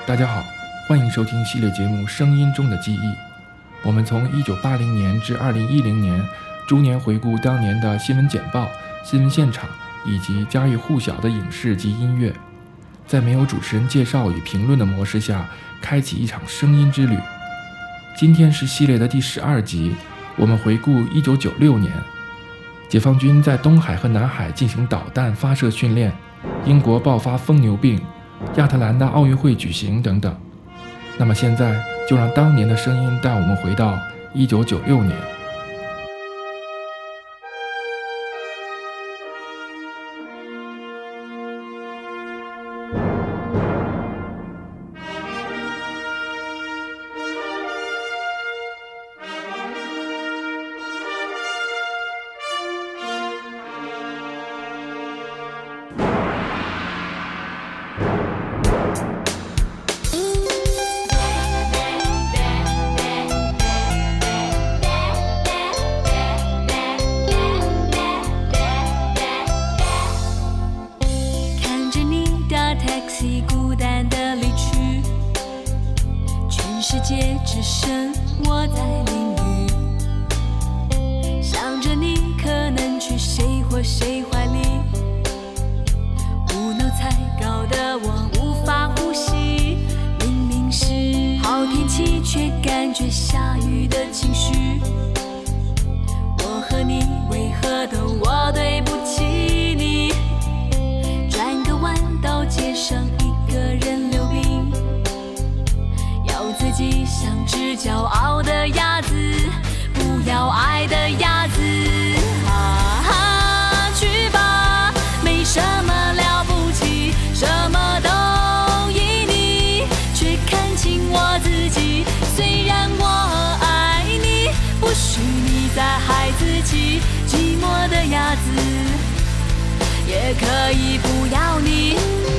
大家好，欢迎收听系列节目《声音中的记忆》。我们从1980年至2010年，逐年回顾当年的新闻简报、新闻现场以及家喻户晓的影视及音乐，在没有主持人介绍与评论的模式下，开启一场声音之旅。今天是系列的第12集，我们回顾1996年，解放军在东海和南海进行导弹发射训练，英国爆发疯牛病，亚特兰大奥运会举行等等。那么现在就让当年的声音带我们回到1996年。 孤单的离去，全世界只剩我在淋雨，想着你可能去谁或谁怀里，无脑才搞得我无法呼吸，明明是好天气却感觉下雨的情绪，我和你为何都我对不起你，转个弯到街上一个人溜冰，要自己像只骄傲的鸭子，不要爱的鸭子，去吧，没什么了不起，什么都依你，却看清我自己，虽然我爱你，不许你再害自己，寂寞的鸭子也可以不要你。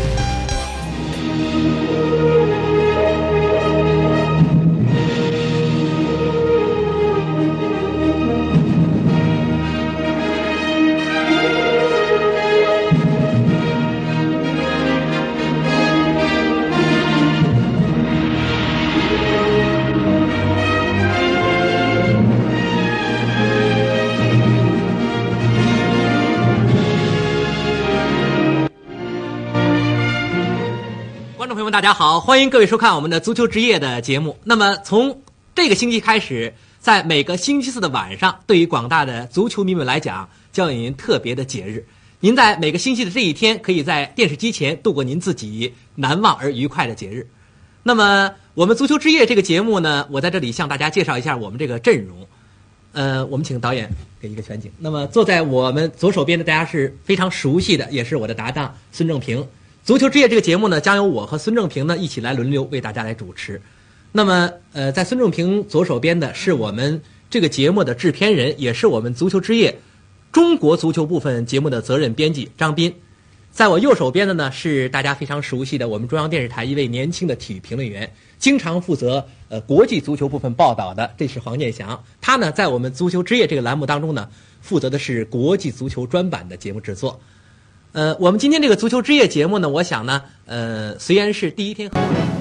观众朋友们大家好，欢迎各位收看我们的足球之夜的节目。那么从这个星期开始，在每个星期四的晚上，对于广大的足球迷们来讲，将有您特别的节日。您在每个星期的这一天，可以在电视机前度过您自己难忘而愉快的节日。那么我们足球之夜这个节目呢，我在这里向大家介绍一下我们这个阵容。我们请导演给一个全景。那么坐在我们左手边的大家是非常熟悉的，也是我的搭档孙正平。足球之夜这个节目呢，将由我和孙正平呢一起来轮流为大家来主持。那么在孙正平左手边的是我们这个节目的制片人，也是我们足球之夜中国足球部分节目的责任编辑张斌。在我右手边的呢是大家非常熟悉的我们中央电视台一位年轻的体育评论员，经常负责国际足球部分报道的，这是黄健翔。他呢在我们足球之夜这个栏目当中呢，负责的是国际足球专版的节目制作。我们今天这个足球之夜节目呢，我想呢，虽然是第一天。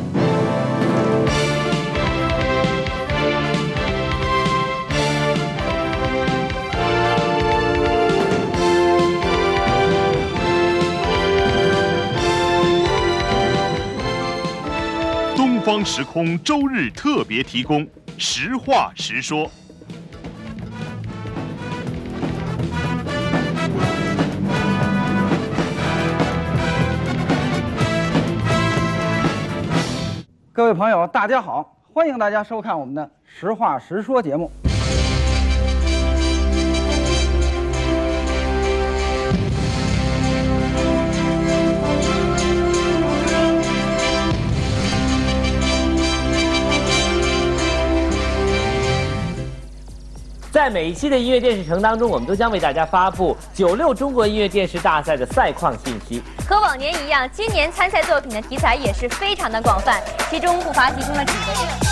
东方时空周日特别提供，实话实说。 各位朋友大家好，欢迎大家收看我们的实话实说节目。 在每一期的音乐电视城当中，我们都将为大家发布96中国音乐电视大赛的赛况信息。 和往年一样，今年参赛作品的题材也是非常的广泛，其中不乏其中的几个热。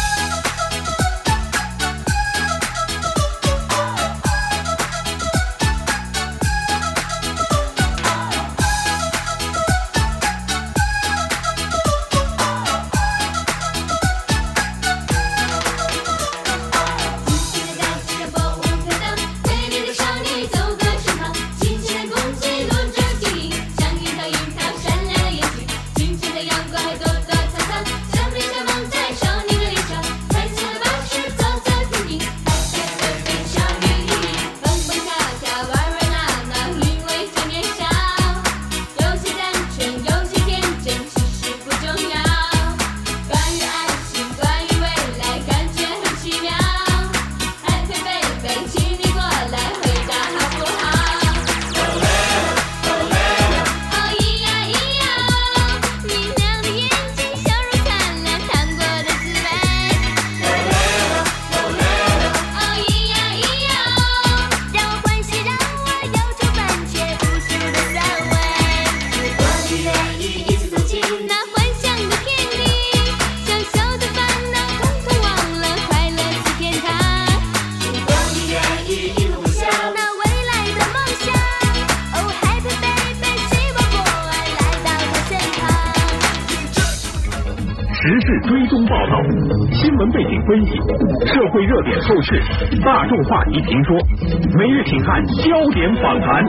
时事追踪报道、新闻背景分析、社会热点透视、大众话题评说，每日请看焦点访谈，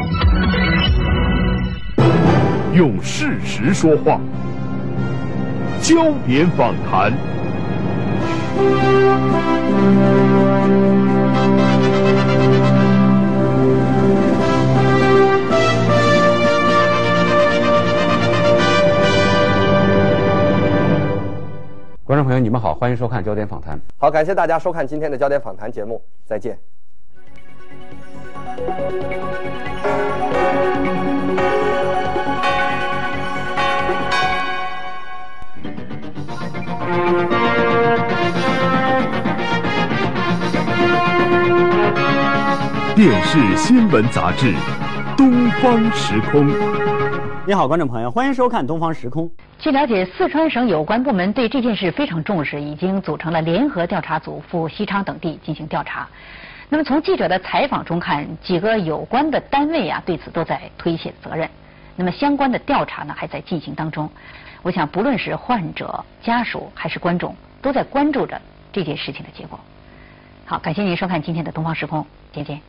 用事实说话。焦点访谈。 观众朋友，你们好，欢迎收看焦点访谈。 好，感谢大家收看今天的焦点访谈节目，再见。 电视新闻杂志《东方时空》。 你好，观众朋友，欢迎收看《东方时空》。 据了解，四川省有关部门对这件事非常重视，已经组成了联合调查组赴西昌等地进行调查。那么从记者的采访中看，几个有关的单位对此都在推卸责任。那么相关的调查呢还在进行当中。我想不论是患者、家属还是观众，都在关注着这件事情的结果。好，感谢您收看今天的《东方时空》，再见。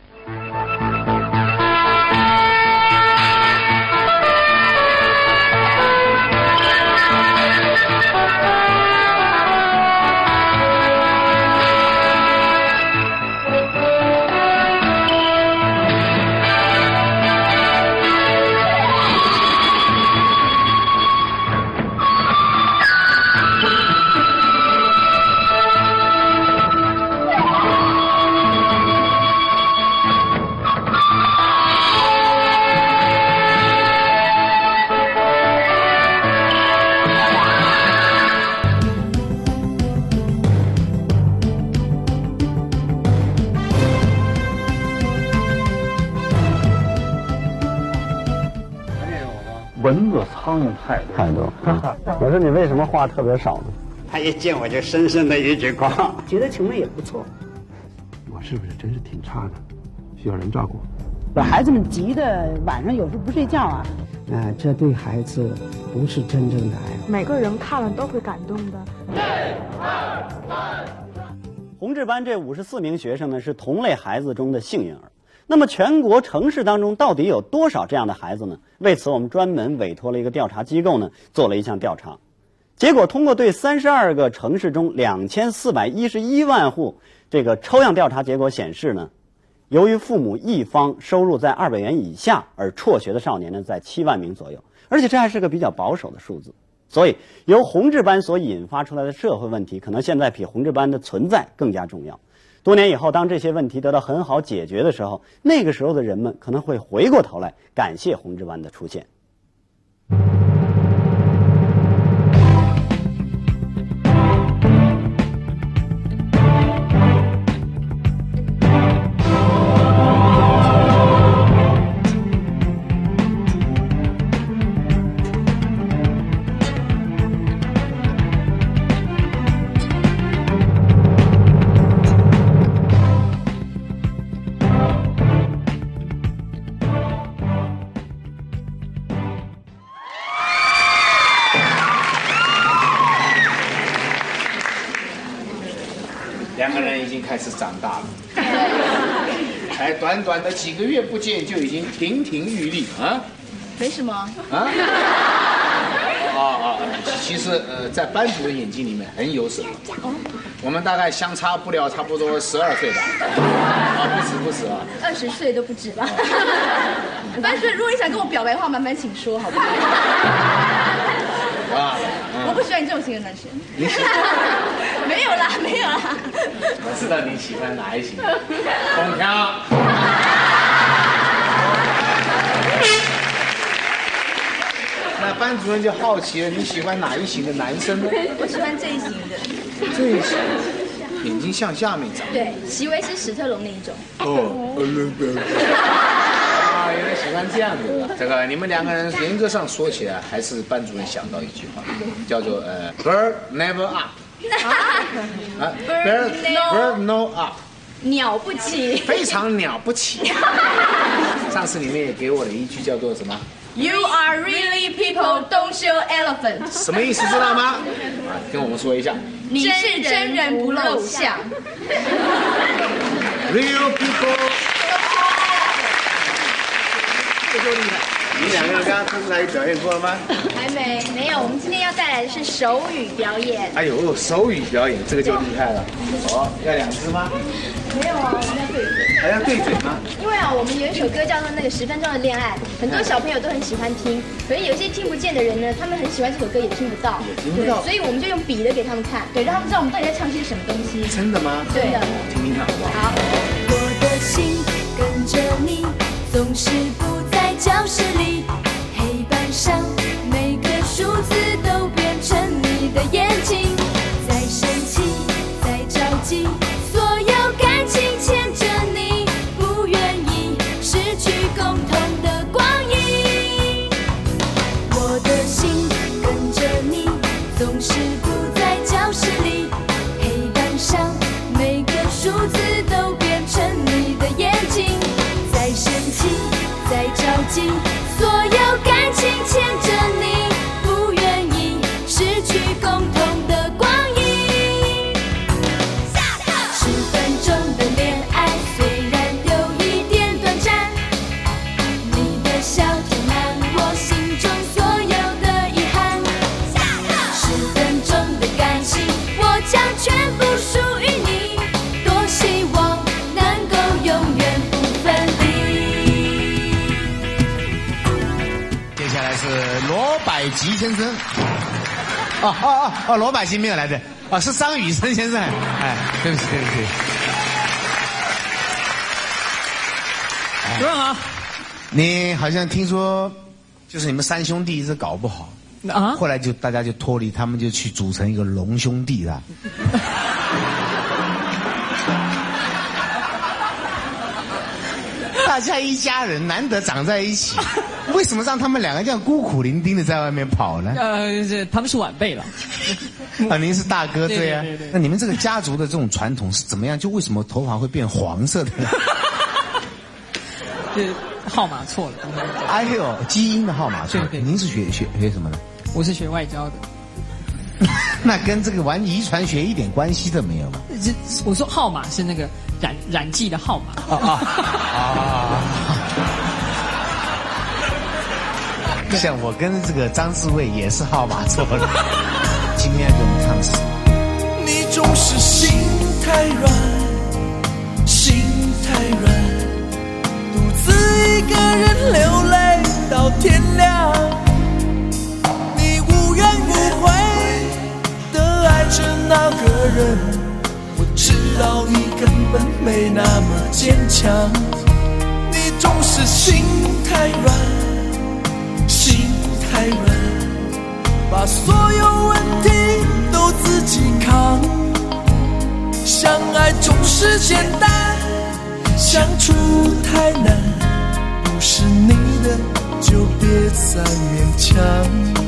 蚊子、苍蝇太多。 我说你为什么话特别少呢？ 他一见我就深深的一句话， 觉得情况也不错。 我是不是真是挺差的？需要人照顾。 把孩子们急的晚上有时候不睡觉啊。 这对孩子不是真正的爱。 每个人看了都会感动的。 宏志班这54名学生呢，是同类孩子中的幸运儿。那么全国城市当中到底有多少这样的孩子呢？为此我们专门委托了一个调查机构呢，做了一项调查。结果通过对32个城市中2411万户这个抽样调查结果显示呢，由于父母一方收入在200元以下而辍学的少年呢，在7万名左右，而且这还是个比较保守的数字。所以由宏志班所引发出来的社会问题，可能现在比宏志班的存在更加重要。多年以后，当这些问题得到很好解决的时候，那个时候的人们可能会回过头来感谢宏志班的出现。 两个人已经开始长大了，才短短的几个月不见就已经亭亭玉立啊！ 没什么啊！其实在班主任眼睛里面很有什么。我们大概相差不了差不多12岁吧。不止啊 ，20岁都不止吧。班主任，如果你想跟我表白的话，麻烦请说，好不好？我不喜欢你这种型的男生。 你喜欢？ 没有啦。 我知道你喜欢哪一型，空调。那班主任就好奇了，你喜欢哪一型的男生呢？ 我喜欢这一型的。 这一型，眼睛向下面长。 对，席维斯·史特龙那一种。 原来喜欢这样的。这个你们两个人严格上说起来，还是班主任想到一句话，叫做bird never up。bird no up。 了不起， 非常了不起。上次你们也给我了一句叫做什么？ You are really people, don't show elephant。 什么意思知道吗？跟我们说一下。 你是真人不露相。 Real people。这就厉害。你们两个人刚刚登台表演过了吗？ 还没有。我们今天要带来的是手语表演。 哎呦，手语表演这个就厉害了。哦，要2只吗？ 没有啊，我们要对嘴。 还要对嘴吗？ 因为我们有一首歌叫做那个10分钟的恋爱，很多小朋友都很喜欢听，可是有些听不见的人呢，他们很喜欢这首歌也听不到，对，所以我们就用比的给他们看，对，让他们知道我们到底在唱些什么东西。 真的吗？ 对的， 听听看好不好？ 好。 我的心跟着你，总是不在教室里，黑板上每个数字都变成你的眼睛，在生气，在着急，所有感情牵着你，不愿意失去共同的光阴。我的心跟着你，总是不在教室里，黑板上每个数字都变成你的眼睛，在生气，在着急，所有感情牵着你，不愿意失去共同的光阴。10分钟的恋爱虽然有一点短暂，你的笑填满我心中所有的遗憾。10分钟的感情，我将全部属于你，多希望能够永远不分离。 接下来是罗百吉先生。罗百吉没有来的，是张雨生先生。哎，对不起。主任好。你好像听说，就是你们3兄弟一直搞不好啊，后来就大家就脱离，他们就去组成一个龙兄弟了。大家一家人难得长在一起，为什么让他们2个这样孤苦伶仃的在外面跑呢？ 他们是晚辈了。 您是大哥，对呀。 对。 那你们这个家族的这种传统是怎么样？就为什么头发会变黄色的呢？ 号码错了。 哎呦，基因的号码错了。您是学什么的？ 我是学外交的。 那跟这个玩遗传学一点关系都没有吗？ 我说号码是那个染剂的号码。 像我跟这个张志伟也是号码错了。今天要给我们唱的是什么？ 你总是心太软，心太软，独自一个人流泪到天亮。你无怨无悔的爱着那个人，我知道你根本没那么坚强。你总是心太软，心太软，把所有问题都自己扛。相爱总是简单，相处太难，不是你的就别再勉强。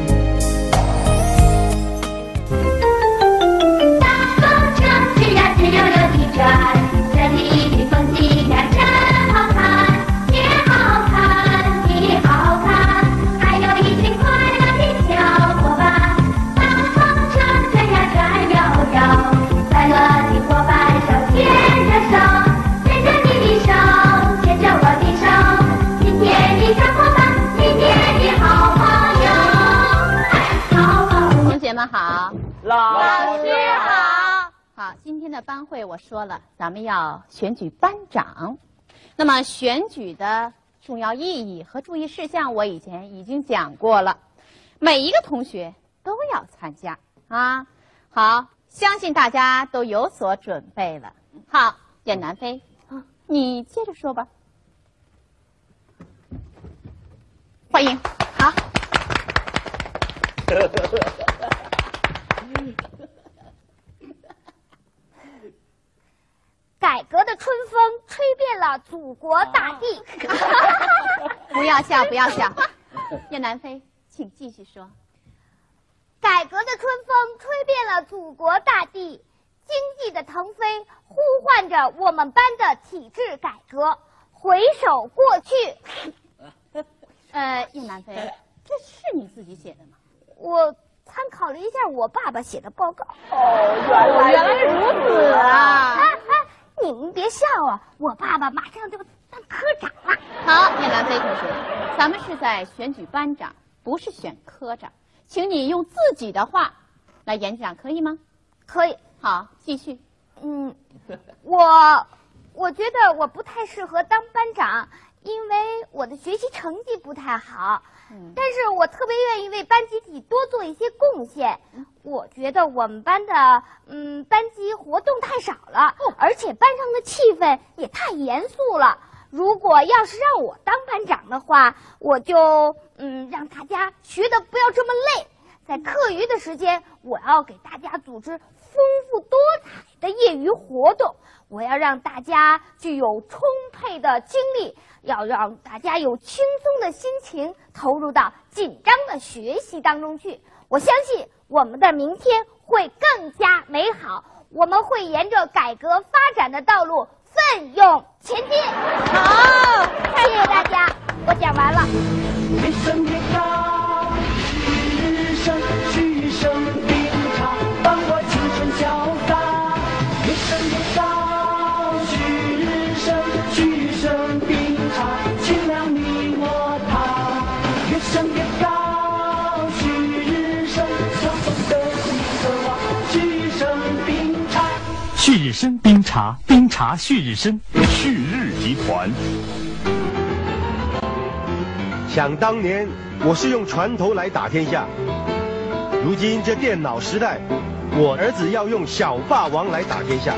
好，老师好。好，今天的班会我说了，咱们要选举班长。那么选举的重要意义和注意事项我以前已经讲过了，每一个同学都要参加啊。好，相信大家都有所准备了。好，简南飞，你接着说吧。欢迎，好。 改革的春风吹遍了祖国大地。 不要笑，不要笑。叶南飞，请继续说。 改革的春风吹遍了祖国大地，经济的腾飞呼唤着我们班的体制改革。回首过去， 叶南飞，这是你自己写的吗？ 我参考了一下我爸爸写的报告。 哦，原来如此啊！ 你们别笑啊，我爸爸马上就当科长了。 好，叶南飞同学，咱们是在选举班长，不是选科长，请你用自己的话来演讲，可以吗？ 可以。 好，继续。 我觉得我不太适合当班长，因为我的学习成绩不太好。但是我特别愿意为班集体多做一些贡献。我觉得我们班的班级活动太少了，而且班上的气氛也太严肃了。如果要是让我当班长的话，我就让大家学的不要这么累。在课余的时间，我要给大家组织丰富多彩的业余活动，我要让大家具有充沛的精力，要让大家有轻松的心情投入到紧张的学习当中去。我相信我们的明天会更加美好，我们会沿着改革发展的道路奋勇前进。好，谢谢大家，我讲完了。 一声别高，一声嘘声并长，帮我青春潇洒。一声别高，嘘声嘘声并长，清凉你我他。一声别高，嘘声相逢的心渴望，嘘声并长。 旭日升冰茶，冰茶旭日升。 旭日集团。 想当年，我是用船头来打天下。如今这电脑时代，我儿子要用小霸王来打天下。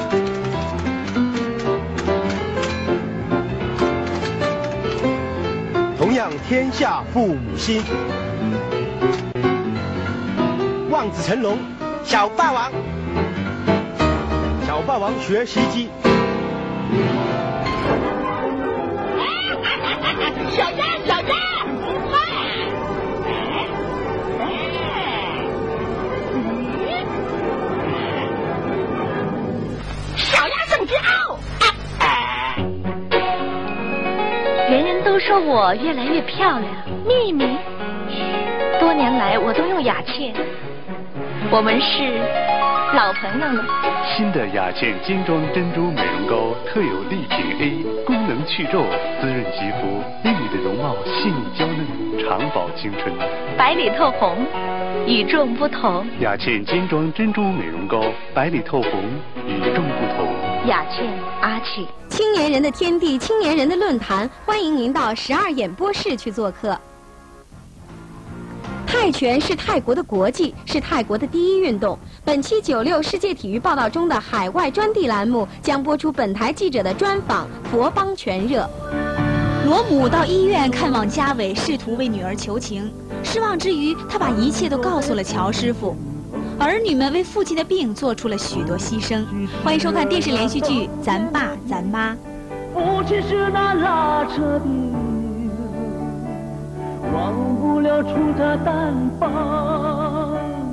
同样天下父母心，望子成龙，小霸王，小霸王学习机。 小鸭，小鸭，小鸭圣之傲。 人人都说我越来越漂亮，秘密。多年来我都用雅倩，我们是老朋友了。 新的雅倩精装珍珠美容膏特有丽品 A， 功能去皱，滋润肌肤，令你的容貌细腻娇嫩，长保青春。 白里透红，与众不同。 雅倩精装珍珠美容膏，白里透红，与众不同。 雅倩阿倩。 青年人的天地，青年人的论坛，欢迎您到12演播室去做客。泰拳是泰国的国际，是泰国的第一运动。本期96世界体育报道中的海外专题栏目将播出本台记者的专访《佛邦拳热》。 罗母到医院看望家伟，试图为女儿求情，失望之余，他把一切都告诉了乔师傅。儿女们为父亲的病做出了许多牺牲。欢迎收看电视连续剧《咱爸咱妈》。 父亲是那拉扯的，忘不了出他单帮。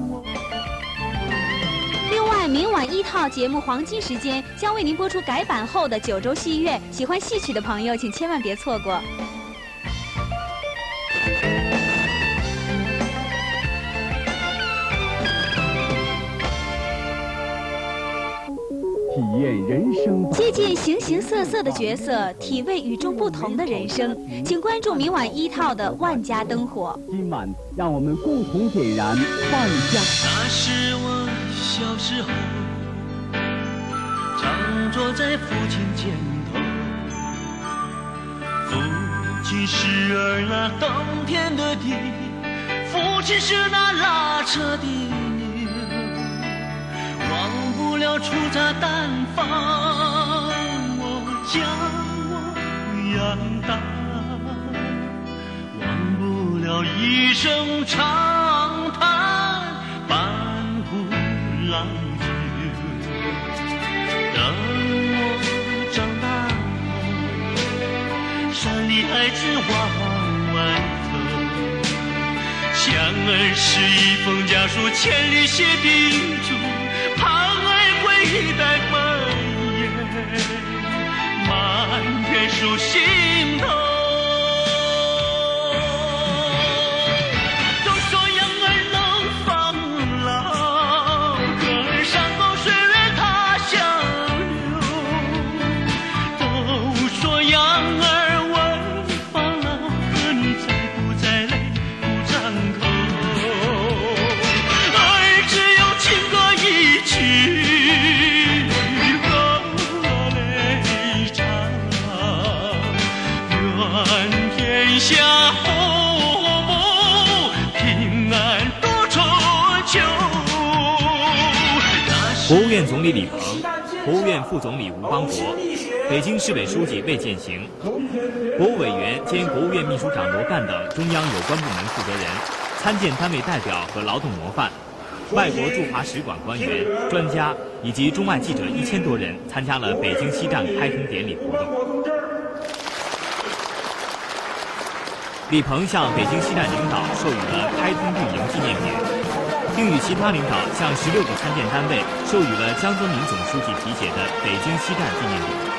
另外，明晚1套节目黄金时间将为您播出改版后的9周戏乐，喜欢戏曲的朋友请千万别错过。 体验人生， 接近形形色色的角色，体味与众不同的人生。请关注明晚1套的《万家灯火》。 今晚让我们共同点燃万家。 那是我小时候，常坐在父亲肩头，父亲是儿那耕田的地，父亲是那拉扯的牛，忘不了出他单方，我将我养大，忘不了一声长叹，半壶来酒。等我长大后，山里孩子往外头，想儿是一封家书，千里写叮嘱，盼儿归来满眼，满眼数心头。 天下平安多春秋。 国务院总理李鹏、国务院副总理吴邦国、北京市委书记魏建行、国务委员兼国务院秘书长罗干等中央有关部门负责人、参建单位代表和劳动模范、外国驻华使馆官员、专家以及中外记者1000多人参加了北京西站开通典礼活动。李鹏向北京西站领导授予了开通运营纪念匾，并与其他领导向16个参建单位授予了江泽民总书记题写的北京西站纪念匾。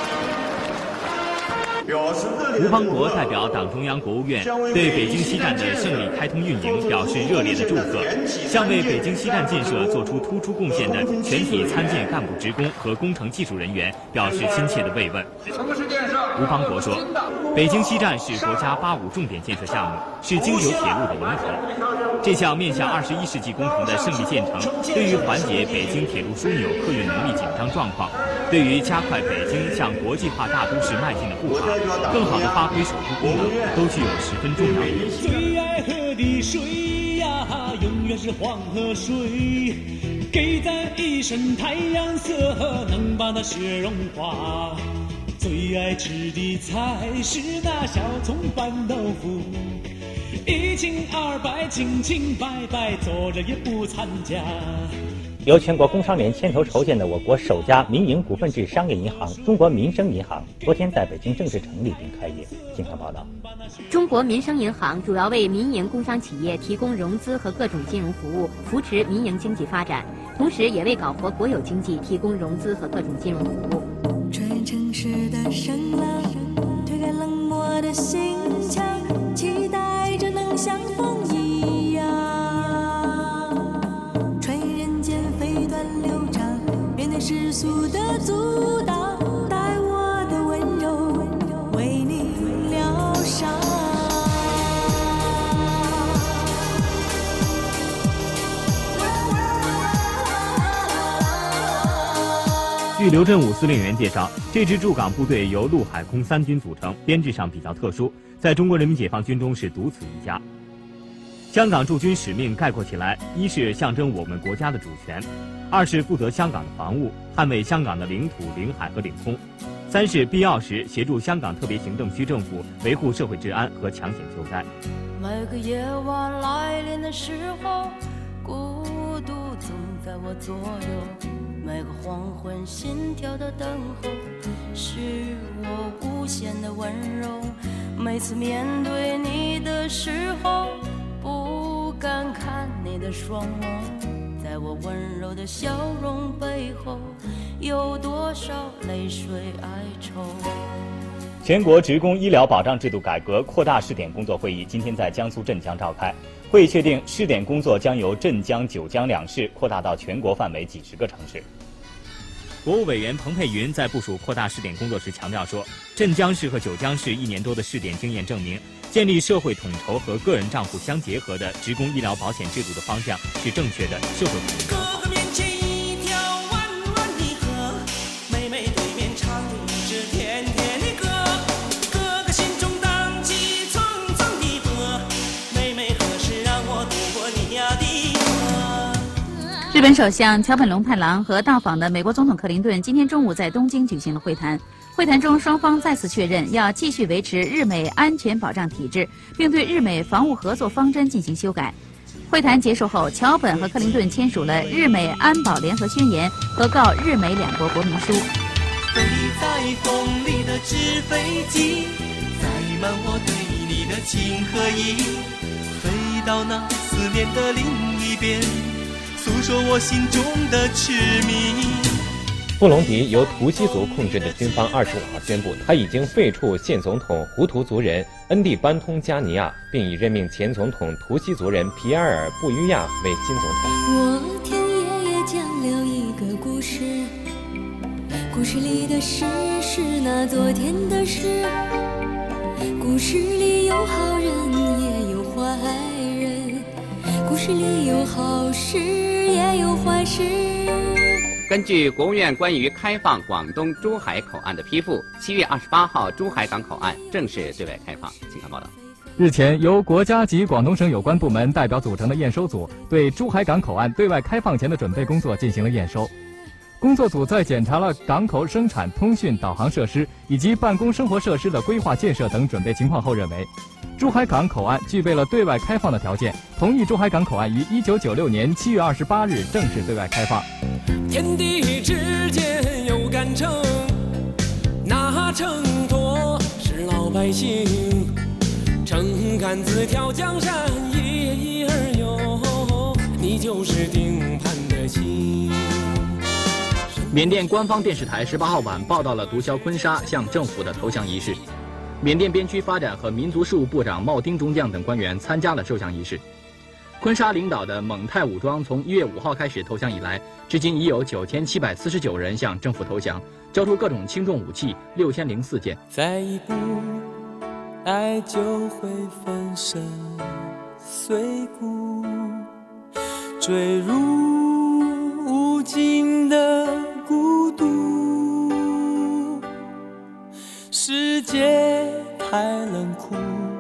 吴邦国代表党中央、国务院对北京西站的胜利开通运营表示热烈的祝贺，向为北京西站建设做出突出贡献的全体参建干部职工和工程技术人员表示亲切的慰问。吴邦国说，北京西站是国家85重点建设项目，是京九铁路的龙头。这项面向21世纪工程的胜利建成，对于缓解北京铁路枢纽客运能力紧张状况，对于加快北京向国际化大都市迈进的步伐，更好地发挥首都功能，都具有十分重要的意义。 最爱喝的水呀，永远是黄河水，给咱一身太阳色，能把那雪融化。最爱吃的菜是那小葱拌豆腐，一清二白，清清白白，坐着也不参加。 由全国工商联牵头筹建的我国首家民营股份制商业银行中国民生银行，昨天在北京正式成立并开业。经常报道， 中国民生银行主要为民营工商企业提供融资和各种金融服务，扶持民营经济发展，同时也为搞活国有经济提供融资和各种金融服务。 穿越城市的声浪，推开冷漠的心墙，期待着能像风一样，穿越人间飞短流长，面对世俗的阻挡，带我的温柔为你疗伤。 据刘振武司令员介绍，这支驻港部队由陆海空3军组成，编制上比较特殊，在中国人民解放军中是独此一家。香港驻军使命概括起来，一是象征我们国家的主权，二是负责香港的防务，捍卫香港的领土、领海和领空，三是必要时协助香港特别行政区政府维护社会治安和抢险救灾。 每个夜晚来临的时候，孤独总在我左右，每个黄昏心跳的等候，是我无限的温柔。每次面对你的时候，不敢看你的双眸，在我温柔的笑容背后，有多少泪水哀愁。 全国职工医疗保障制度改革扩大试点工作会议今天在江苏镇江召开，会议确定试点工作将由镇江、九江2市扩大到全国范围几十个城市。国务委员彭佩云在部署扩大试点工作时强调说，镇江市和九江市1年多的试点经验证明，建立社会统筹和个人账户相结合的职工医疗保险制度的方向是正确的社会统筹。 哥哥面前一条弯弯的河，妹妹对面唱着一支甜甜的歌，哥哥心中荡起层层的波，妹妹何时让我渡过你呀的河。 日本首相桥本龙太郎和到访的美国总统克林顿今天中午在东京举行了会谈。会谈中，双方再次确认要继续维持日美安全保障体制，并对日美防务合作方针进行修改。会谈结束后，桥本和克林顿签署了日美安保联合宣言和告日美2国国民书。 飞在风里的纸飞机，载满我对你的情和义，飞到那思念的另一边，诉说我心中的痴迷。 布隆迪由图西族控制的军方25号宣布，他已经废黜现总统胡图族人恩蒂班通加尼亚，并已任命前总统图西族人皮埃尔布于亚为新总统。 我听爷爷讲了一个故事，故事里的事是那昨天的事，故事里有好人也有坏人，故事里有好事也有坏事。 根据国务院关于开放广东珠海口岸的批复，7月28号珠海港口岸正式对外开放。请看报道。 日前，由国家及广东省有关部门代表组成的验收组对珠海港口岸对外开放前的准备工作进行了验收。工作组在检查了港口生产、通讯、导航设施以及办公生活设施的规划建设等准备情况后认为，珠海港口岸具备了对外开放的条件，同意珠海港口岸于1996年7月28日正式对外开放。 天地之间有杆秤，那秤砣是老百姓，秤杆子挑江山，一儿游，你就是定盘的心。 缅甸官方电视台18号晚报道了毒枭坤沙向政府的投降仪式。缅甸边区发展和民族事务部长茂丁中将等官员参加了受降仪式。坤沙领导的蒙泰武装从1月5号开始投降以来，至今已有9749人向政府投降，交出各种轻重武器6004件。 再一步，爱就会粉身碎骨，坠入无尽的孤独。世界太冷酷，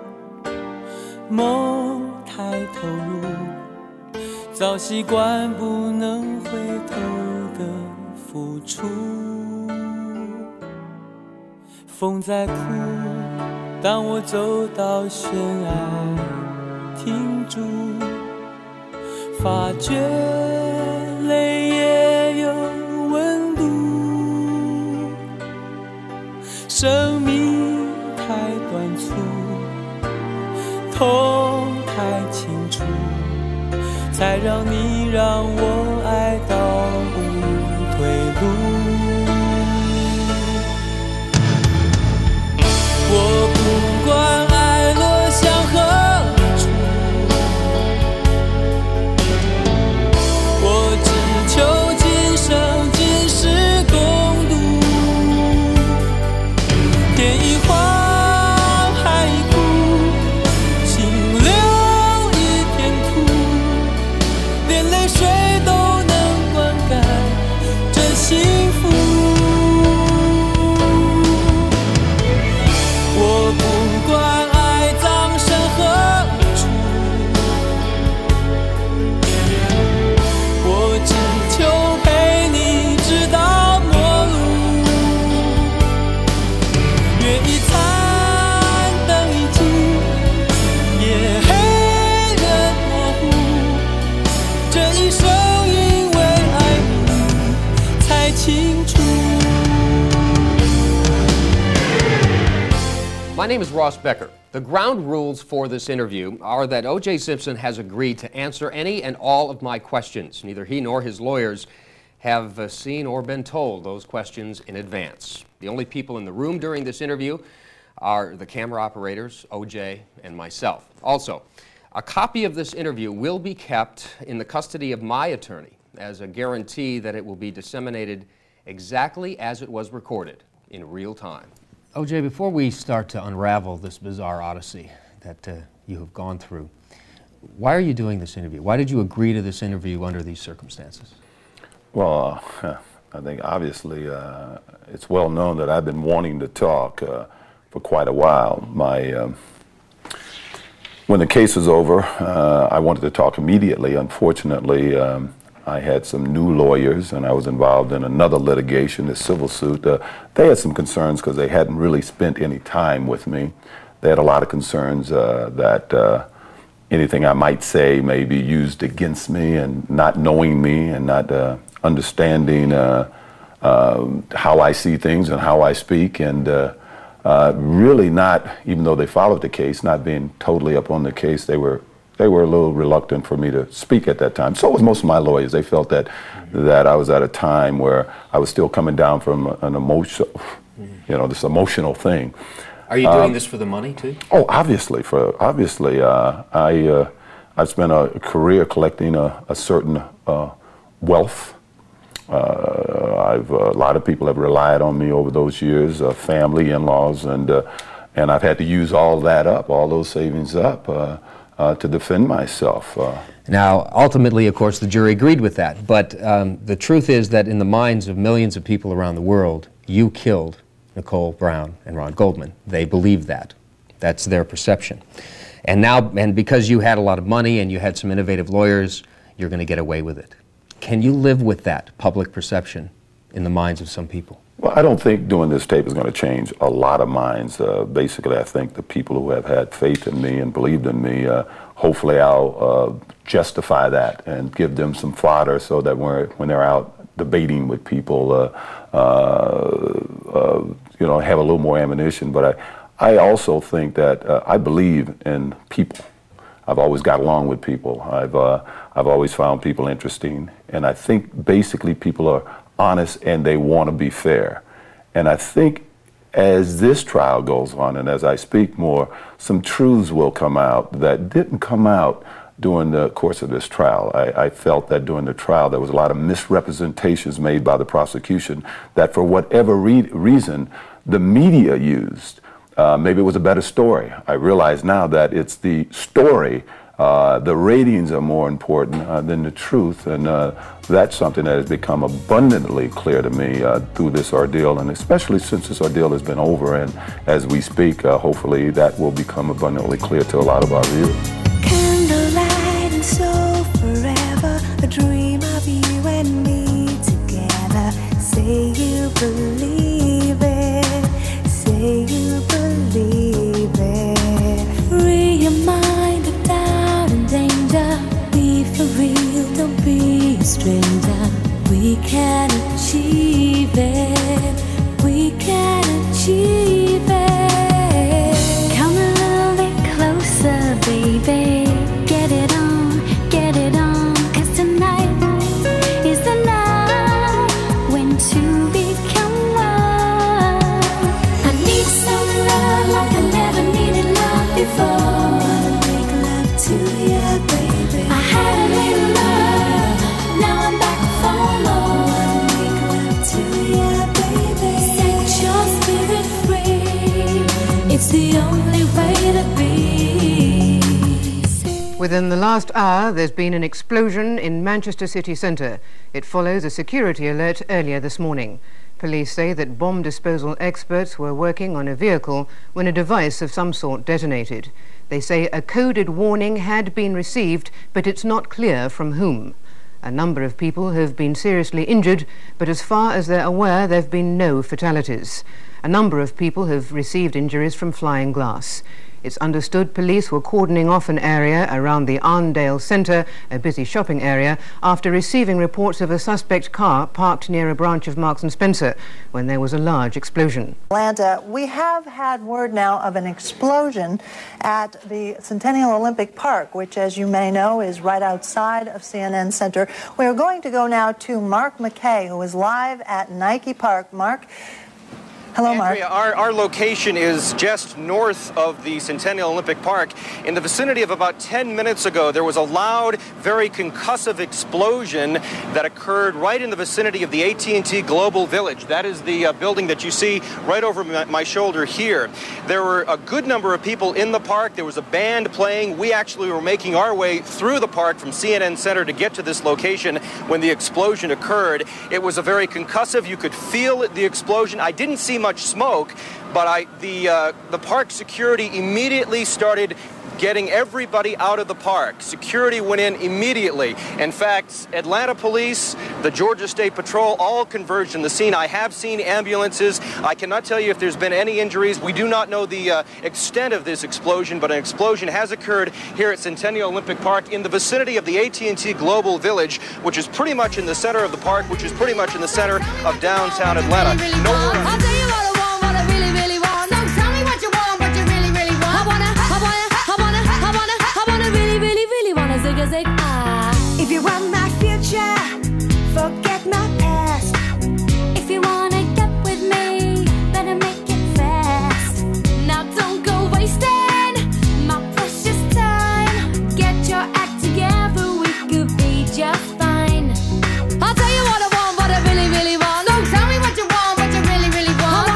梦太投入，早习惯不能回头的付出。风在哭，当我走到悬崖停住，发觉泪也有温度。生命太短促，痛太清楚，才让你让我爱到无退路。我不管爱落向何处，我只求今生今世共度。天一荒，海一枯，心留一片土，连泪水都能灌溉这幸福。我不管爱葬身何处，我只求陪你直到末路。月一残，灯一尽，夜黑人模糊，这一生因为爱你才清楚。 My name is Ross Becker. The ground rules for this interview are that O.J. Simpson has agreed to answer any and all of my questions. Neither he nor his lawyers have seen or been told those questions in advance. The only people in the room during this interview are the camera operators, O.J., and myself. Also, a copy of this interview will be kept in the custody of my attorney as a guarantee that it will be disseminated exactly as it was recorded in real time. O.J., before we start to unravel this bizarre odyssey that you have gone through, why are you doing this interview? Why did you agree to this interview under these circumstances? Well, I think obviously it's well known that I've been wanting to talk for quite a while. When the case was over, I wanted to talk immediately. Unfortunately, I had some new lawyers, and I was involved in another litigation, a civil suit. They had some concerns because they hadn't really spent any time with me. They had a lot of concerns that anything I might say may be used against me, and not knowing me and not understanding how I see things and how I speak, and really not, even though they followed the case, not being totally up on the case, they were a little reluctant for me to speak at that time. So was most of my lawyers. They felt that I was at a time where I was still coming down from an emotional, this emotional thing. Are you doing this for the money too? Oh, obviously. I've spent a career collecting a certain wealth. A lot of people have relied on me over those years, family, in-laws, and I've had to use all that up, all those savings up. To defend myself. Now, ultimately, of course, the jury agreed with that, but the truth is that in the minds of millions of people around the world, you killed Nicole Brown and Ron Goldman. They believe that. That's their perception. And now, and because you had a lot of money and you had some innovative lawyers, you're going to get away with it. Can you live with that public perception in the minds of some people? Well, I don't think doing this tape is going to change a lot of minds. Basically, I think the people who have had faith in me and believed in me, hopefully I'll justify that and give them some fodder so that when they're out debating with people, you know, have a little more ammunition. But I also think that I believe in people. I've always got along with people. I've always found people interesting, and I think basically people are honest and they want to be fair. And I think as this trial goes on and as I speak more, some truths will come out that didn't come out during the course of this trial. I felt that during the trial there was a lot of misrepresentations made by the prosecution that for whatever reason the media used. Maybe it was a better story. I realize now that it's the story, the ratings are more important than the truth, and that's something that has become abundantly clear to me through this ordeal, and especially since this ordeal has been over, and as we speak, hopefully that will become abundantly clear to a lot of our viewers. Candlelight and so forever, a dream of you and me together. Say you believe it, say you believe it. Free your mind of doubt and danger. Be for real, don't be a stranger. We can achieve it, we can achieve it. Come a little bit closer, baby. Get it on, 'cause tonight is the night when two become one. I need some love like I never needed love before. Wanna make love to you, baby. I had a little love, now I'm back for more. Wanna make love to you, baby. Set your spirit free, it's the only way to be. Within the last hour, there's been an explosion in Manchester city centre. It follows a security alert earlier this morning. Police say that bomb disposal experts were working on a vehicle when a device of some sort detonated. They say a coded warning had been received, but it's not clear from whom. A number of people have been seriously injured, but as far as they're aware, there have been no fatalities. A number of people have received injuries from flying glass. It's understood police were cordoning off an area around the Arndale Centre, a busy shopping area, after receiving reports of a suspect car parked near a branch of Marks & Spencer when there was a large explosion. Atlanta, we have had word now of an explosion at the Centennial Olympic Park, which, as you may know, is right outside of CNN Center. We're going to go now to Mark McKay, who is live at Nike Park. Mark. Hello, Mark. Andrea, our location is just north of the Centennial Olympic Park. In the vicinity of about 10 minutes ago, there was a loud, very concussive explosion that occurred right in the vicinity of the AT&T Global Village. That is the building that you see right over my shoulder here. There were a good number of people in the park. There was a band playing. We actually were making our way through the park from CNN Center to get to this location when the explosion occurred. It was a very concussive. You could feel the explosion. I didn't see much smoke, but the park security immediately started getting everybody out of the park. Security went in immediately. In fact, Atlanta Police, the Georgia State Patrol, all converged on the scene. I have seen ambulances. I cannot tell you if there's been any injuries. We do not know the extent of this explosion, but an explosion has occurred here at Centennial Olympic Park in the vicinity of the AT&T Global Village, which is pretty much in the center of the park, which is pretty much in the center of downtown Atlanta. If you want my future, forget my past. If you wanna get with me, better make it fast. Now don't go wasting my precious time. Get your act together, we could be just fine. I'll tell you what I want, what I really, really want. Don't tell me what you want, what you really, really want.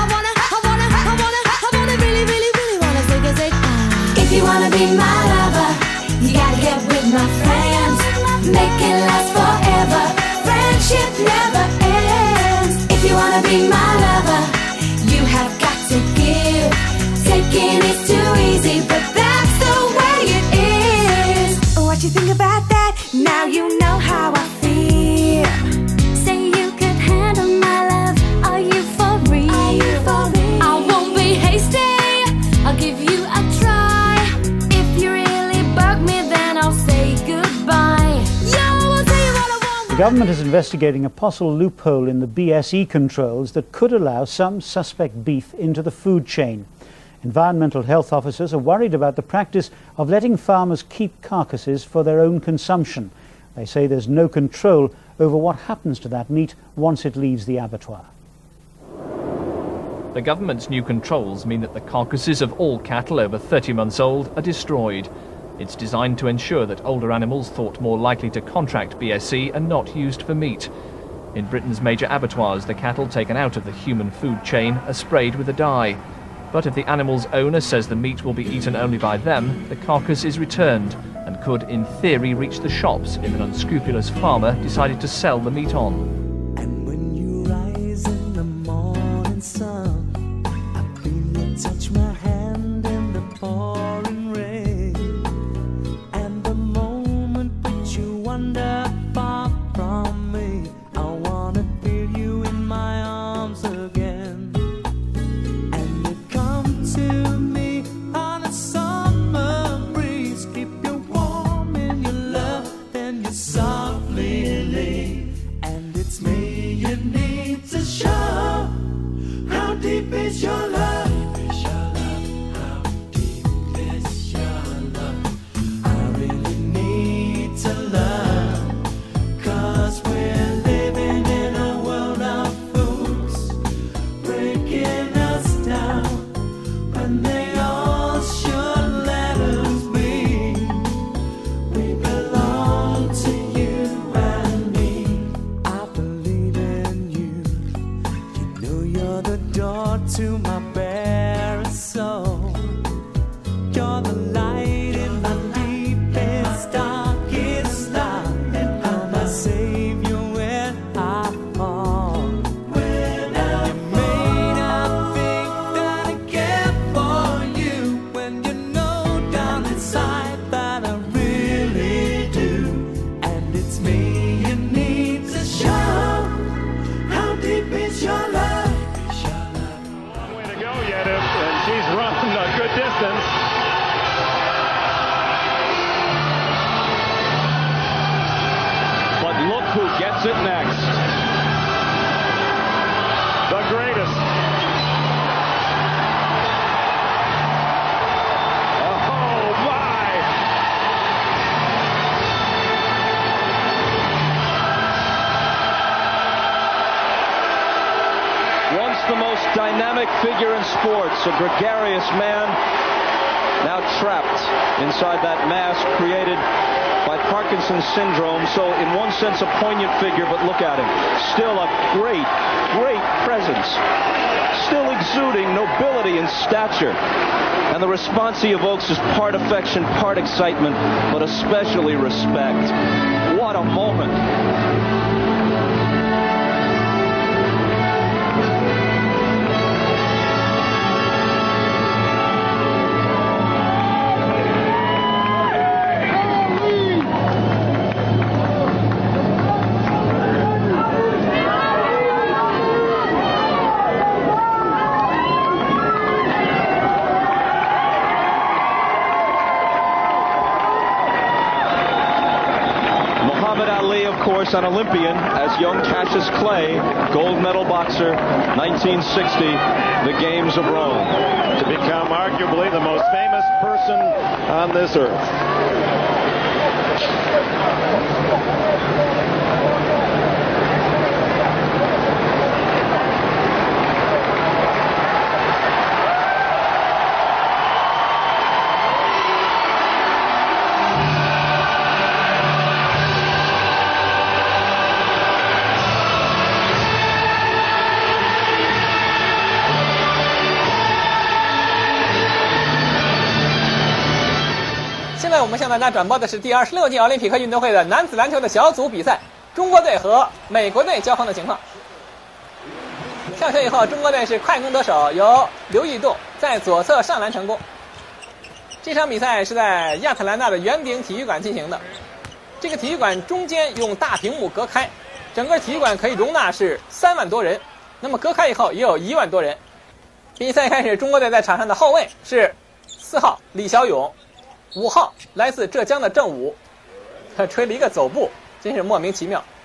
I wanna really, really, really wanna zig a zig. If you wanna be my lover, you gotta get with my friend. make it last forever. Friendship never ends. If you wanna be my lover, you have got to give. Taking is too easy, but that's the way it is. What you think about that? Now you know how I feel. Say you could handle my love. Are you for real? Are you for real? I won't be hasty. I'll give you a try. If you really bug me, then I'll say goodbye. Yo, I'll tell you what I want. The government is investigating a possible loophole in the BSE controls that could allow some suspect beef into the food chain. Environmental health officers are worried about the practice of letting farmers keep carcasses for their own consumption. They say there's no control over what happens to that meat once it leaves the abattoir. The government's new controls mean that the carcasses of all cattle over 30 months old are destroyed. It's designed to ensure that older animals thought more likely to contract BSE are not used for meat. In Britain's major abattoirs, the cattle taken out of the human food chain are sprayed with a dye. But if the animal's owner says the meat will be eaten only by them, the carcass is returned and could, in theory, reach the shops if an unscrupulous farmer decided to sell the meat on. And when you rise in the morning sun, I feel you touch my hand in the pouring rain. And the moment that you wander far from me, I wanna feel you in my arms again. And you come to me on a summer breeze, keep you warm in your love, then you softly leave. And it's me you need to show. How deep is your love? How deep is your love? I really need to love, 'cause we're living in a world of fools, breaking us down when they all should let us be. We belong to you and me. I believe in you. You know you're the door to my bare soul. You're the light in my deepest, darkest night. I'm my savior when I fall. When you may not think that I care for you, when you know down inside that I really do. And it's me you need to show. How deep is your love? Way to go, Yediv, and she's run a good distance. But look who gets it next. The greatest. Oh, my. Once the most dynamic figure in sports, a gregarious man, now trapped inside that mask created by Parkinson's syndrome. So in one sense a poignant figure, but look at him. Still a great, great presence. Still exuding nobility and stature. And the response he evokes is part affection, part excitement, but especially respect. What a moment. An Olympian as young Cassius Clay, gold medal boxer, 1960, the Games of Rome. To become arguably the most famous person on this earth. 在我们向大家转播的是第26届奥林匹克运动会的男子篮球的小组比赛，中国队和美国队交锋的情况。上球以后，中国队是快攻得手，由刘义栋在左侧上篮成功。这场比赛是在亚特兰大的圆顶体育馆进行的，这个体育馆中间用大屏幕隔开，整个体育馆可以容纳是3万多人，那么隔开以后也有1万多人。比赛开始，中国队在场上的后卫是4号李小勇，5号来自浙江的郑武，他吹了一个走步，真是莫名其妙。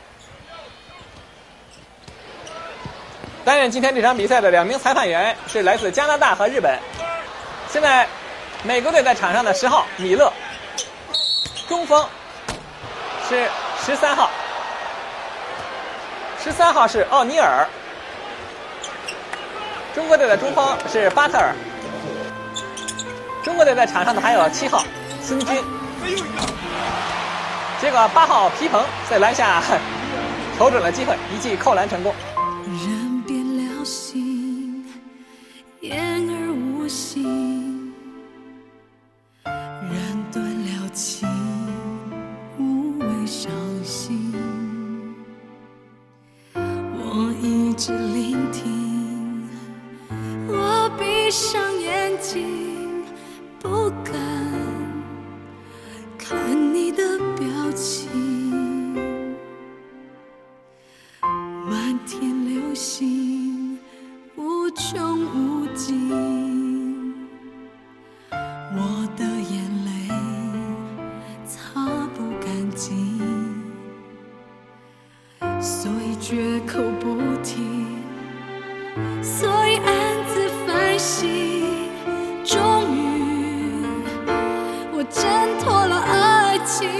担任今天这场比赛的2名裁判员是来自加拿大和日本。现在美国队在场上的10号米勒，中锋是13号，13号是奥尼尔。中国队的中锋是巴特尔。中国队在场上的还有7号孙军。结果8号皮蓬在篮下瞅准了机会，一记扣篮成功。 人变了心，言而无信，人断了情，无谓伤心。我一直聆听，我闭上眼睛，不敢看你的表情。满天流星无穷无尽，我的眼泪擦不干净，所以绝口不提，所以暗自反省。终于我挣脱了爱情，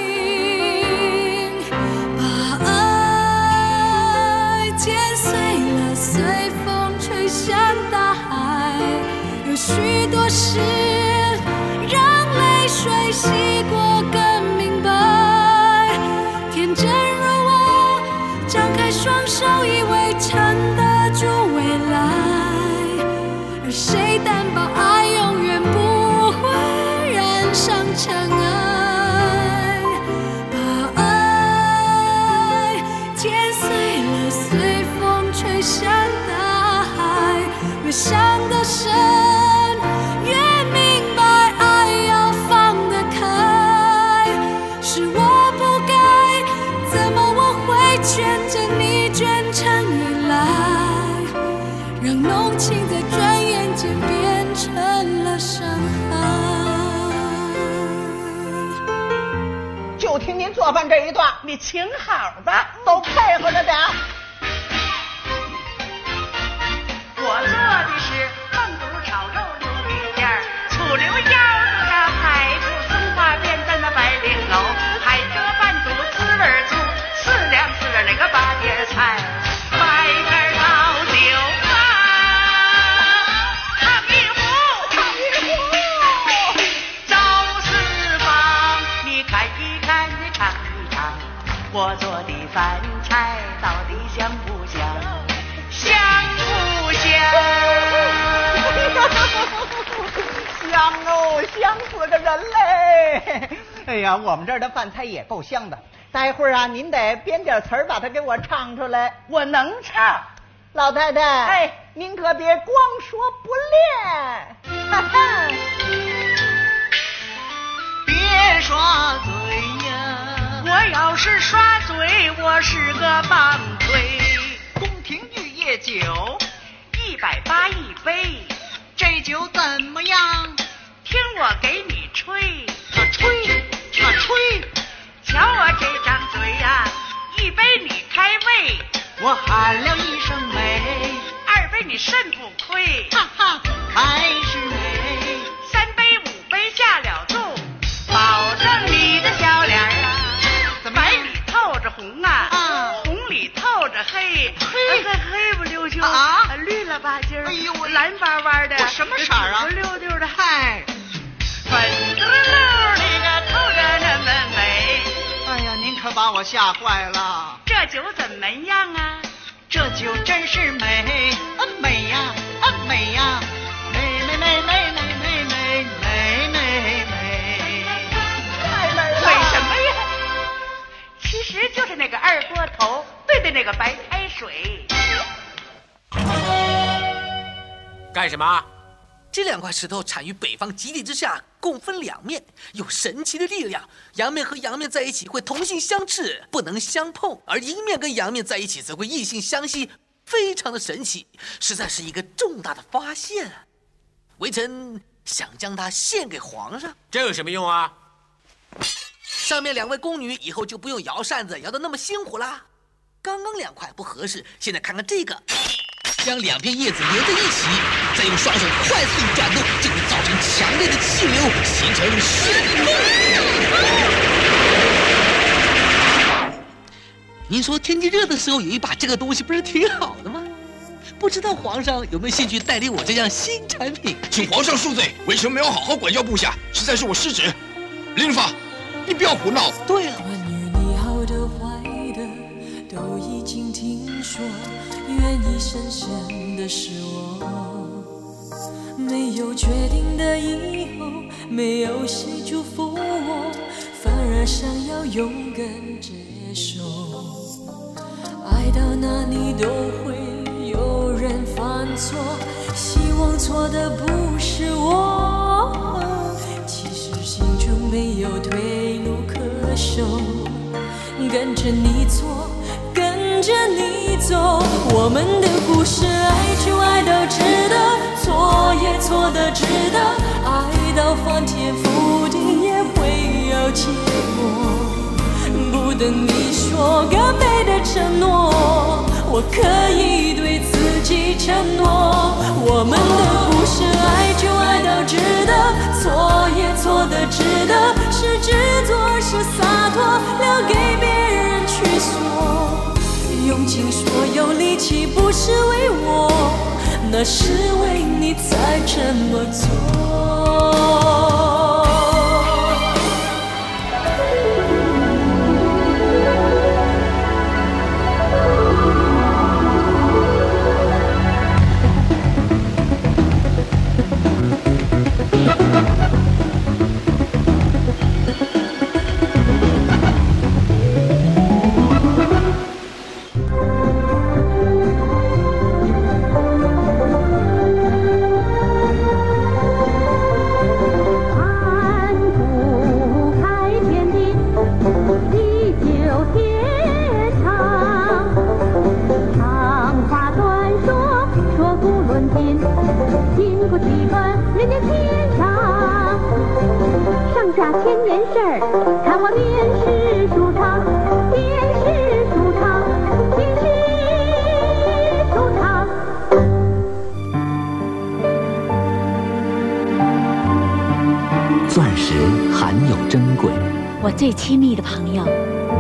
剪碎了，随风吹向大海。有许多事让泪水洗过更明白。天真如我，张开双手，以为撑得住未来。而谁担保爱永远不会染上尘埃？把爱剪碎了，随风吹向大海。越想得深，越明白爱要放得开。是我不该，怎么我会卷着你卷成依赖，让浓情在转眼间变成了伤害。 就听您做饭这一段，你请好吧，都配合着点。 我做的是焖肚炒肉溜皮馅儿，醋溜腰子的排骨松花边的那白绫藕，海蜇拌肚滋味醋，4两那个八碟菜，白干老酒啊，烫一壶，烫一壶，赵四方，你看一看，你尝一尝，我做的饭菜到底香不香？香不香？ 香哦，香死个人嘞！哎呀，我们这儿的饭菜也够香的。待会儿啊，您得编点词儿把它给我唱出来。 我能唱。 老太太， 哎， 您可别光说不练。哈哈， 别耍嘴呀！我要是耍嘴，我是个棒槌。 宫廷玉液酒 180一杯， 这酒怎么样？ 听我给你吹， 吹， 瞧我这张嘴呀，1杯你开胃， 我喊了一声美 ；2杯你肾不亏， 哈哈，还是美 ；3杯5杯下了肚，保证你的小脸啊，白里透着红啊，红里透着黑，黑不溜秋啊， 绿了吧唧儿， 哎呦， 蓝巴巴的， 什么色儿啊？ 紫溜溜的， 嗨， 粉嘟溜的个透着那么美。 哎呀，您可把我吓坏了。 这酒怎么样啊？ 这酒真是美，美呀，美呀，美美美美美美美美美美。 的那个白开水。 干什么？这2块石头产于北方极地之下，共分2面，有神奇的力量。阳面和阳面在一起会同性相斥，不能相碰；而阴面跟阳面在一起则会异性相吸，非常的神奇，实在是一个重大的发现。微臣想将它献给皇上。 这有什么用啊？上面2位宫女以后就不用摇扇子摇得那么辛苦啦。刚刚2块不合适，现在看看这个。将2片叶子连在一起，再用双手快速转动，就会造成强烈的气流，形成旋风。您说天气热的时候有一把这个东西，不是挺好的吗？不知道皇上有没有兴趣代理我这样新产品？ 请皇上恕罪，微臣没有好好管教部下，实在是我失职。林法，你不要胡闹。 对了。 好的坏的都已经听说，愿意深深的是我，没有决定的以后，没有谁祝福我，反而想要勇敢接受。爱到哪里都会有人犯错，希望错的不是我，其实心中没有退路可守，跟着你错，跟着你走，我们的故事爱就爱到值得，错也错的值得，爱到翻天覆地也会有结果，不等你说个美的承诺，我可以对自己承诺，我们的故事爱就爱到值得，错也错的值得，是执着是洒脱，留给别人去说，用尽所有力气不是为我，那是为你才这么做。 钻石含有珍贵， 我最亲密的朋友。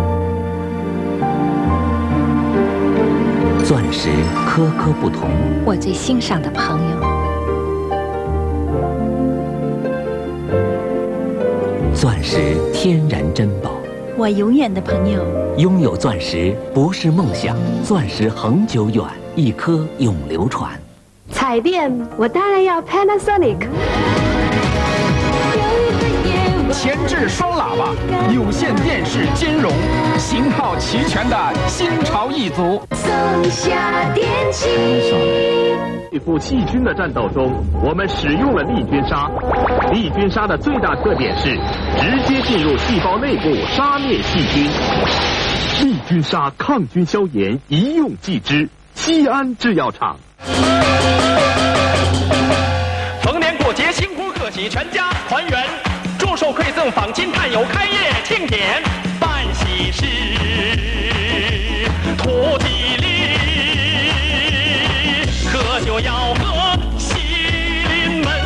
钻石颗颗不同， 我最欣赏的朋友。 钻石天然珍宝， 我永远的朋友。 拥有钻石不是梦想，钻石恒久远，一颗永流传。 彩电，我当然要 Panasonic。 前置双喇叭，有线电视兼容，型号齐全的新潮一族。 松下电器。 对付细菌的战斗中，我们使用了利菌杀。利菌杀的最大特点是直接进入细胞内部杀灭细菌。利菌杀抗菌消炎，一用即知。西安制药厂。 逢年过节，新婚贺喜，全家团圆。祝寿馈赠，访亲探友，开业庆典，办喜事，图吉利。喝酒要喝喜临门。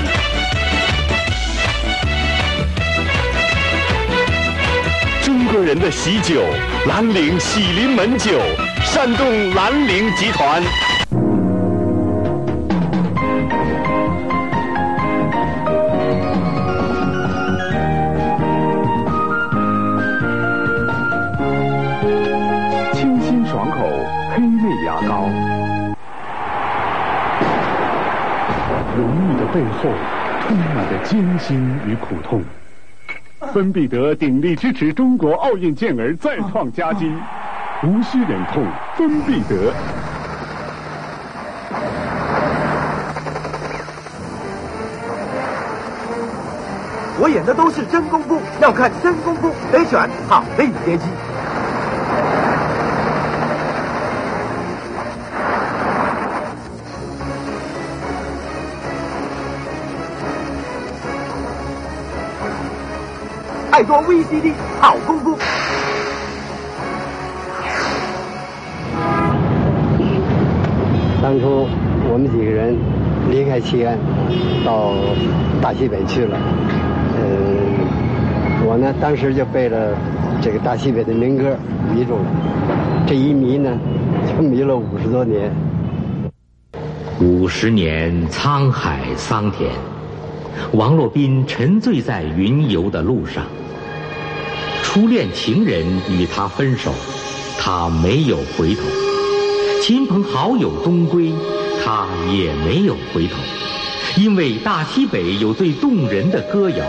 中国人的喜酒，兰陵喜临门酒，山东兰陵集团。 爽口黑妹牙膏，如意的背后充满着艰辛与苦痛。芬必得鼎力支持中国奥运健儿再创佳绩， 无需忍痛，分必得。 我演的都是真功夫，要看真功夫得选好的影碟机。爱多 VCD 好功夫。 当初我们几个人离开西安，到大西北去了。我呢当时就背了这个大西北的民歌迷住了，这一迷呢就迷了50多年。 50年沧海桑田，王洛宾沉醉在云游的路上。初恋情人与他分手，他没有回头；亲朋好友东归，他也没有回头，因为大西北有最动人的歌谣。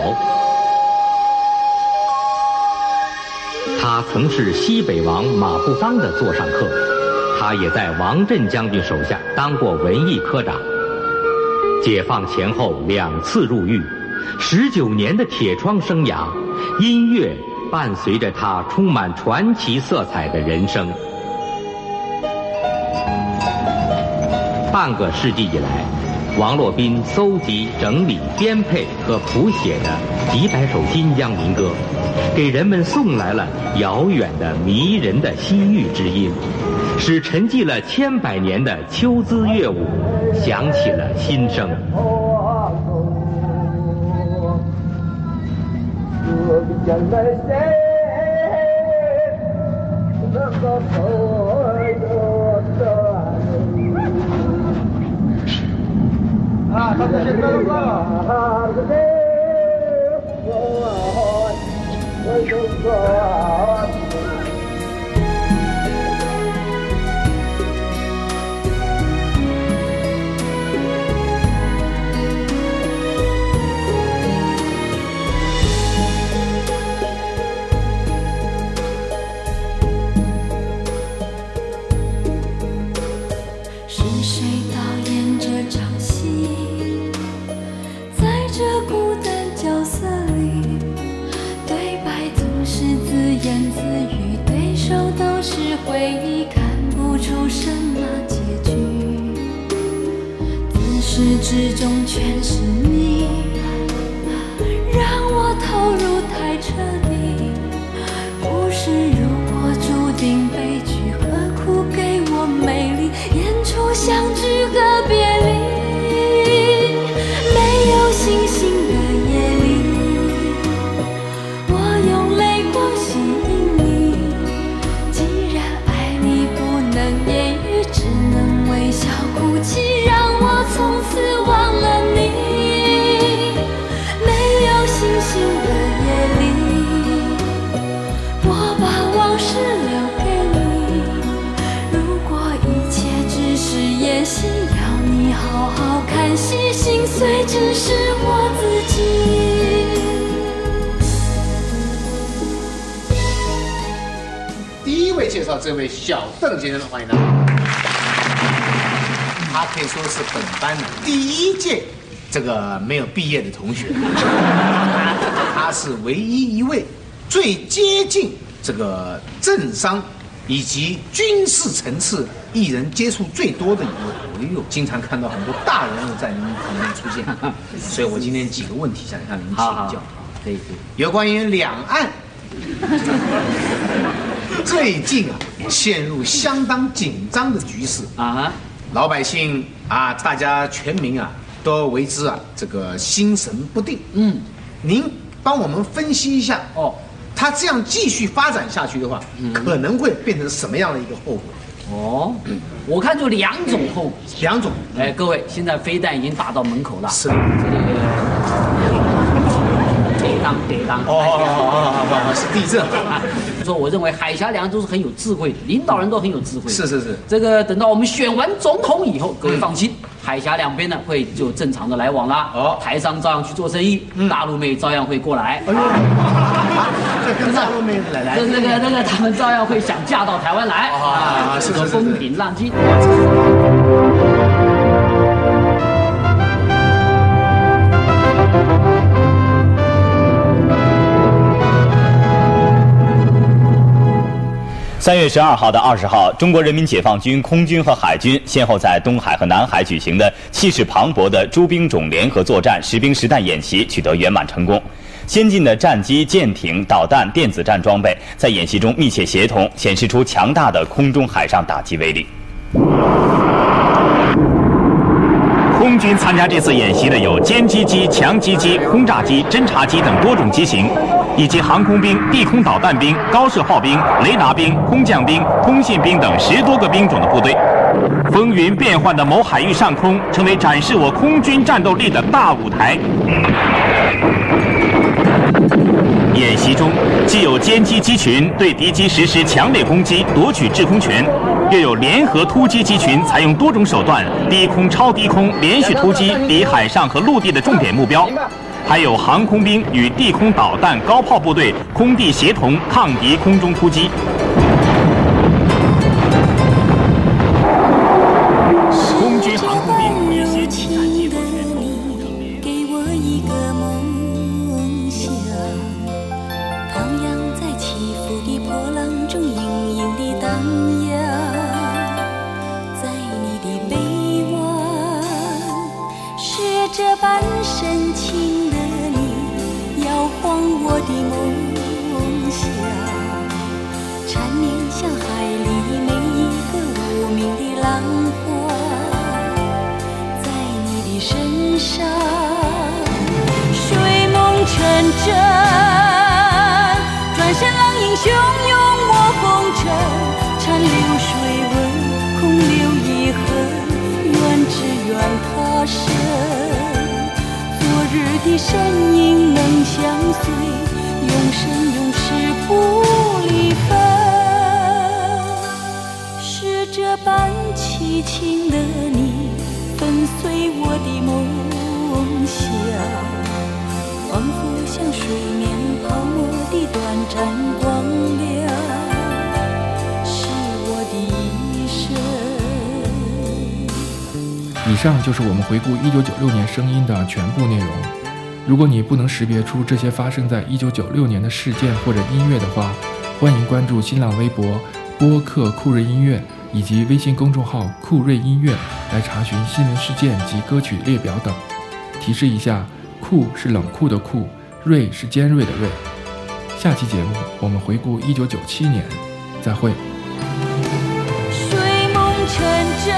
他曾是西北王马步芳的座上客，他也在王震将军手下当过文艺科长。解放前后2次入狱，19年的铁窗生涯，音乐伴随着他充满传奇色彩的人生。半个世纪以来，王洛宾搜集、整理、编配和谱写的几百首新疆民歌，给人们送来了遥远的迷人的西域之音，使沉寂了100年的秋姿乐舞响起了新生。 啊，他这些歌都算了。 是谁导演这场戏？在这孤单角色里，对白总是自言自语，对手都是回忆，看不出什么结局。自始至终全是你，让我投入太彻底。故事如果注定悲剧，何苦给我美丽？演出相聚和别离。没有星星的夜里，我用泪光吸引你。既然爱你不能言语，只能微笑哭泣，让我从此忘了你。没有星星的夜里，我把往事留给你。如果一切只是演戏，要你好好看戏，心碎只是我自己。 第一位介绍这位小邓先生，欢迎他。他可以说是本班的第1届这个没有毕业的同学，他是唯一一位最接近这个政商以及军事层次艺人接触最多的一位。哎呦，经常看到很多大人物在您旁边出现，所以我今天几个问题想向您请教。 可以。 有关于两岸最近陷入相当紧张的局势啊，老百姓啊，大家全民都为之这个心神不定。您帮我们分析一下哦，他这样继续发展下去的话，可能会变成什么样的一个后果？ 哦，我看就2种后果。 2种。 哎，各位，现在飞弹已经打到门口了。 是。 跌当。 是地震。 说我认为海峡两岸都是很有智慧的，领导人都很有智慧。 是。 这个等到我们选完总统以后，各位放心，海峡两边呢会就正常的来往啦。台商照样去做生意，大陆妹照样会过来。 这跟大陆妹子来， 那个，他们照样会想嫁到台湾来啊，是个风平浪静。 3月12号到20号，中国人民解放军空军和海军先后在东海和南海举行的气势磅礴的诸兵种联合作战实兵实弹演习取得圆满成功。先进的战机、舰艇、导弹、电子战装备在演习中密切协同，显示出强大的空中海上打击威力。 空军参加这次演习的有歼击机、强击机、轰炸机、侦察机等多种机型，以及航空兵、地空导弹兵、高射炮兵、雷达兵、空降兵、通信兵等10多个兵种的部队。风云变幻的某海域上空，成为展示我空军战斗力的大舞台。演习中，既有歼击机群对敌机实施强烈攻击，夺取制空权，又有联合突击机群采用多种手段，低空、超低空连续突击敌海上和陆地的重点目标。还有航空兵与地空导弹、高炮部队空地协同抗敌空中突击。空军航空兵与先进战机作战。 给我一个梦想，徜徉在起伏的波浪中，隐隐地荡漾。在你的臂弯，是这般深情的你，摇晃我的梦想，缠绵像海里每一个无名的浪花，在你的身上睡梦成真，转身浪影汹涌我红尘，残留水纹空留遗恨，愿只愿他生，昨日的身影能相随，永生永世不离分，是这般凄情的你粉碎我的梦想，仿佛像水面泡沫的短暂光亮，是我的一生。 以上就是我们回顾1996年声音的全部内容。如果你不能识别出这些发生在1996年的事件或者音乐的话，欢迎关注新浪微博播客酷瑞音乐以及微信公众号酷瑞音乐来查询新闻事件及歌曲列表等。提示一下，酷是冷酷的酷，锐是尖锐的锐。下期节目我们回顾1997年，再会。 睡梦成真，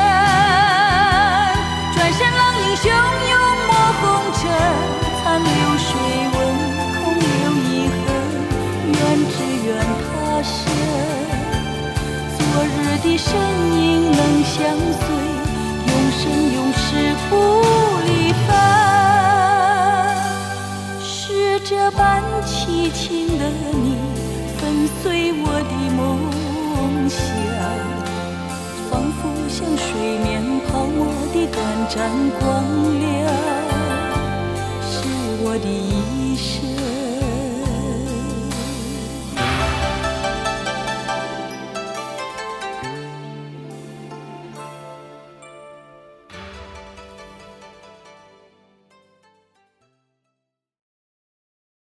转身浪影汹涌我红尘，残留水纹空留遗恨，愿只愿他生，昨日的身影能相随，永生永世不离分，是这般凄情的你粉碎我的梦想，仿佛像水面泡沫的短暂光亮，是我的